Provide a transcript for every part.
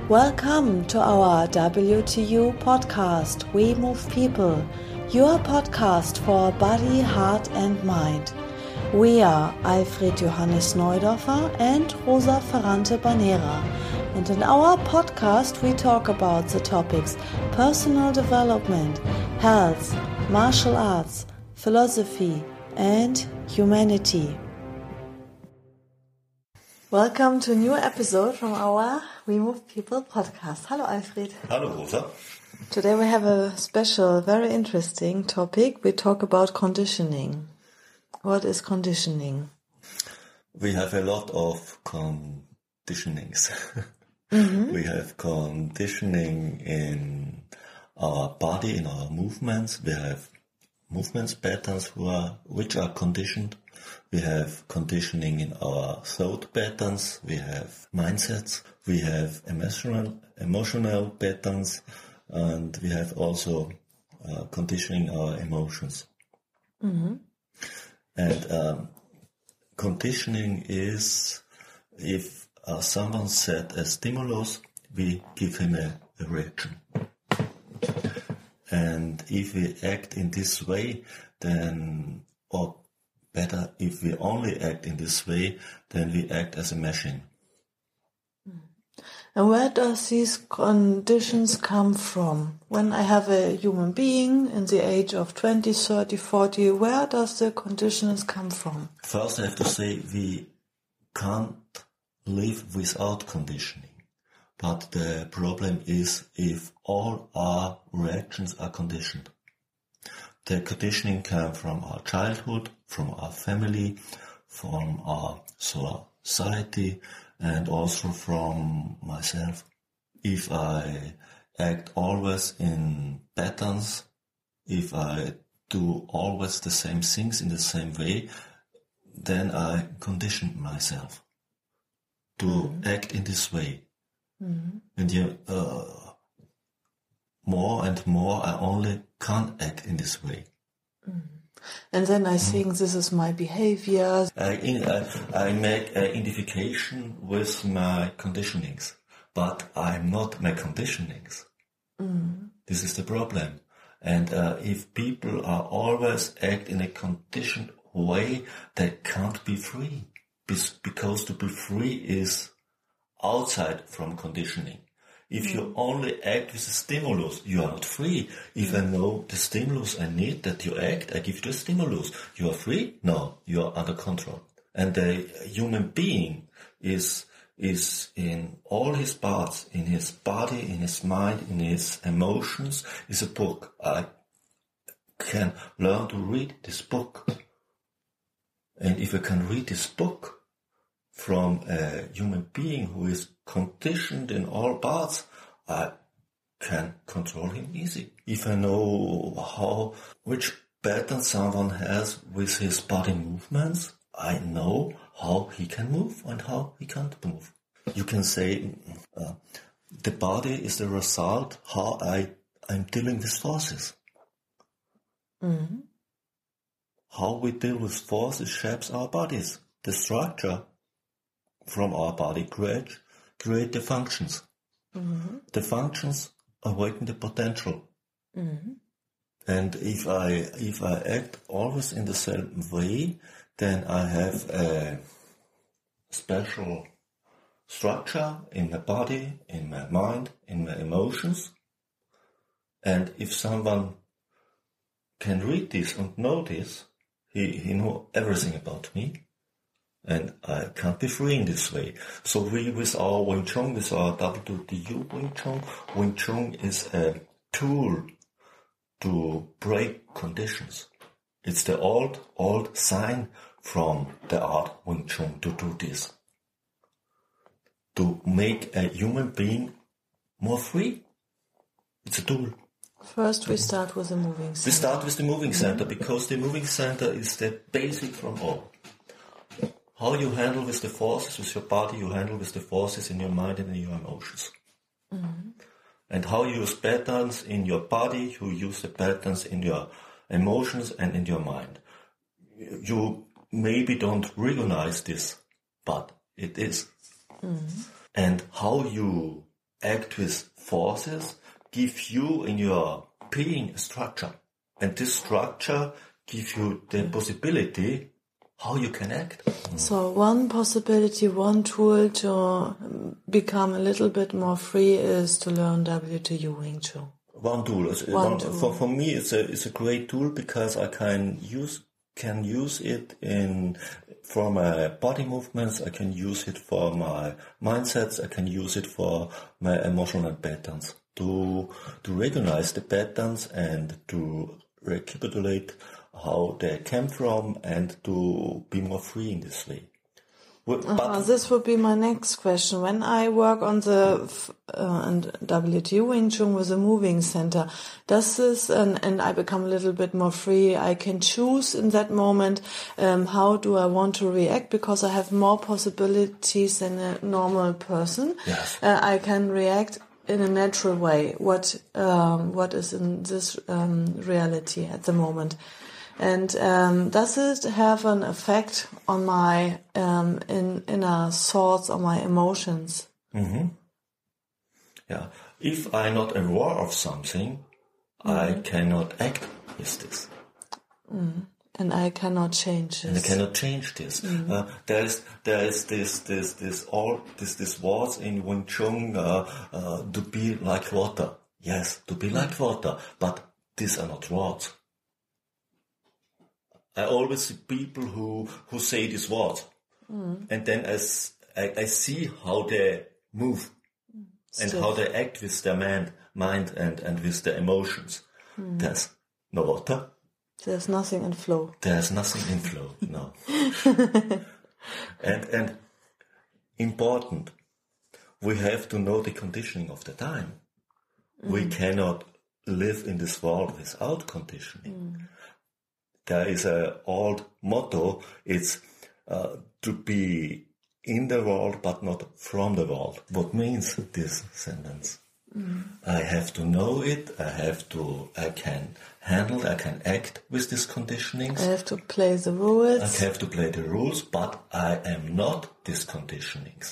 Welcome to our WTU podcast, We Move People, your podcast for body, heart and mind. We are Alfred Johannes Neudorfer and Rosa Ferrante Banera, and in our podcast we talk about the topics personal development, health, martial arts, philosophy and humanity. Welcome to a new episode from our We Move People podcast. Hello, Alfred. Hello, Rosa. Today we have a special, very interesting topic. We talk about conditioning. What is conditioning? We have a lot of conditionings. Mm-hmm. We have conditioning in our body, in our movements. We have movements patterns which are conditioned. We have conditioning in our thought patterns, we have mindsets, we have emotional patterns, and we have also conditioning our emotions. Mm-hmm. And conditioning is if someone set a stimulus, we give him a reaction. And if we act in this way, then, or better, if we only act in this way, then we act as a machine. And where does these conditions come from? When I have a human being in the age of 20, 30, 40, where does the conditions come from? First I have to say we can't live without conditioning. But the problem is if all our reactions are conditioned. The conditioning came from our childhood, from our family, from our society, and also from myself. If I act always in patterns, if I do always the same things in the same way, then I condition myself to act in this way. Mm-hmm. And more and more I only can't act in this way. Mm. And then I think this is my behavior. I make an identification with my conditionings, but I'm not my conditionings. Mm. This is the problem. And if people are always act in a conditioned way, they can't be free. Because to be free is outside from conditioning. If you only act with a stimulus, you are not free. If I know the stimulus I need that you act, I give you the stimulus. You are free? No, you are under control. And the human being is in all his parts, in his body, in his mind, in his emotions, is a book. I can learn to read this book. And if I can read this book from a human being who is conditioned in all parts, I can control him easy. If I know which pattern someone has with his body movements, I know how he can move and how he can't move. You can say the body is the result how I'm dealing with forces. Mm-hmm. How we deal with forces shapes our bodies. The structure from our body create the functions. Mm-hmm. The functions awaken the potential. Mm-hmm. And if I act always in the same way, then I have a special structure in my body, in my mind, in my emotions. And if someone can read this and know this, he knows everything about me. And I can't be free in this way. So we, with our Wing Chun, with our WTU Wing Chun is a tool to break conditions. It's the old sign from the art Wing Chun to do this. To make a human being more free. It's a tool. First we start with the moving center. We start with the moving center because the moving center is the basic from all. How you handle with the forces with your body, you handle with the forces in your mind and in your emotions. Mm-hmm. And how you use patterns in your body, you use the patterns in your emotions and in your mind. You maybe don't recognize this, but it is. Mm-hmm. And how you act with forces, give you in your being a structure. And this structure gives you the possibility how you can act. So one possibility, one tool to become a little bit more free is to learn WTU Wing Chun. One tool. For me, it's a great tool because I can use it for my body movements. I can use it for my mindsets. I can use it for my emotional patterns to recognize the patterns and to recapitulate how they came from and to be more free in this way. But this would be my next question. When I work on the WTU Wing Chun with a moving center, does this, and I become a little bit more free, I can choose in that moment how do I want to react, because I have more possibilities than a normal person. Yes. I can react in a natural way. What is in this reality at the moment? And does it have an effect on my inner thoughts, on my emotions? Mm-hmm. Yeah. If I'm not aware of something, I cannot act with this. And I cannot change this. And I cannot change this. There is this words in Wing Chun to be like water. Yes, to be like water, but these are not words. I always see people who say these words, and then I see how they move and how they act with their mind and with their emotions. There's no water. There's nothing in flow. There's nothing in flow. No. and important, we have to know the conditioning of the time. We cannot live in this world without conditioning. There is an old motto, it's to be in the world but not from the world. What means this sentence? I have to know it, I can handle, I can act with these conditionings. I have to play the rules. I have to play the rules, but I am not these conditionings.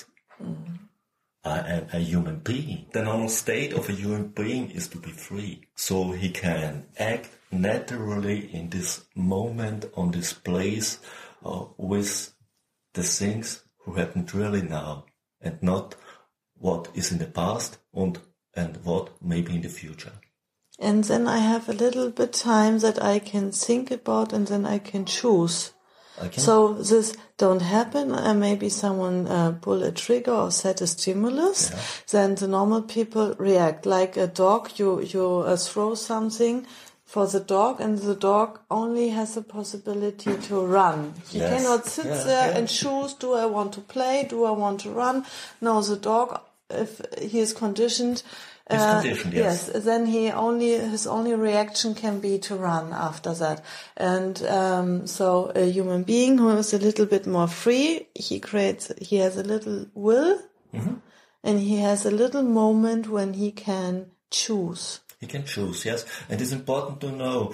I am a human being. The normal state of a human being is to be free. So he can act naturally in this moment, on this place, with the things who happened really now, and not what is in the past and what may be in the future. And then I have a little bit time that I can think about, and then I can choose. So this don't happen. Maybe someone pull a trigger or set a stimulus. Yeah. Then the normal people react like a dog. You throw something for the dog, and the dog only has the possibility to run. He cannot sit there and choose, do I want to play, do I want to run? No, the dog, if he is conditioned, yes, then his only reaction can be to run after that. And so a human being who is a little bit more free, he has a little will, and he has a little moment when he can choose. He can choose, yes. And it's important to know,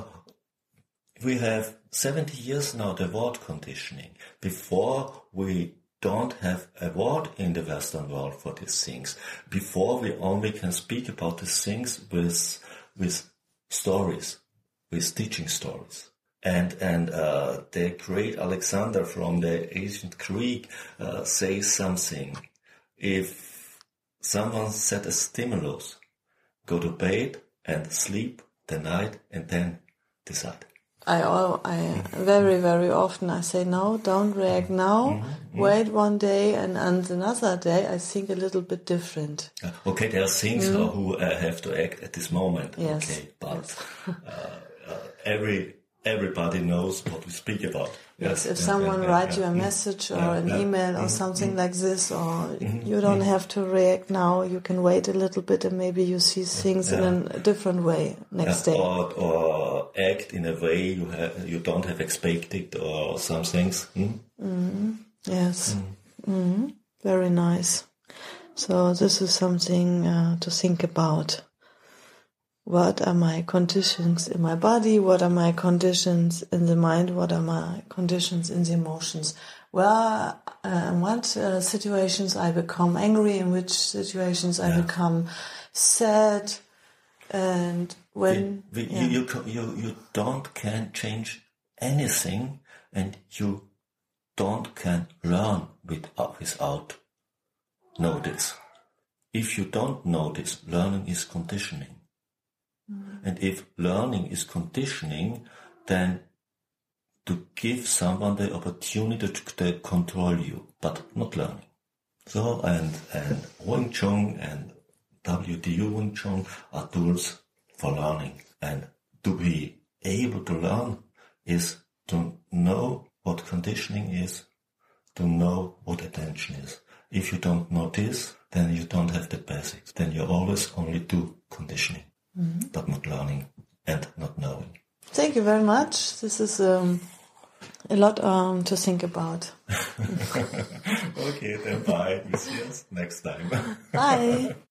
we have 70 years now the word conditioning. Before we don't have a word in the Western world for these things. Before we only can speak about these things with stories, with teaching stories. And the great Alexander from the ancient Greek says something. If someone set a stimulus, go to bed and sleep the night and then decide. I very, very often I say, no, don't react now, wait one day, and on another day I think a little bit different. Okay, there are things who have to act at this moment. Yes. Okay, but everybody knows what we speak about. Yes, if someone writes you a message or an email or something like this, or you don't have to react now, you can wait a little bit and maybe you see things in a different way next day. Or act in a way you don't have expected or some things. Yes. Very nice. So this is something to think about. What are my conditions in my body? What are my conditions in the mind? What are my conditions in the emotions? in what situations I become angry, in which situations I become sad, and when you don't can change anything, and you don't can learn without notice. If you don't notice, learning is conditioning. And if learning is conditioning, then to give someone the opportunity to control you, but not learning. So, and Wing Chun and WTU Wing Chun are tools for learning. And to be able to learn is to know what conditioning is, to know what attention is. If you don't know this, then you don't have the basics. Then you always only do conditioning, but not learning and not knowing. Thank you very much. This is a lot to think about. Okay, then bye. We see us next time. Bye.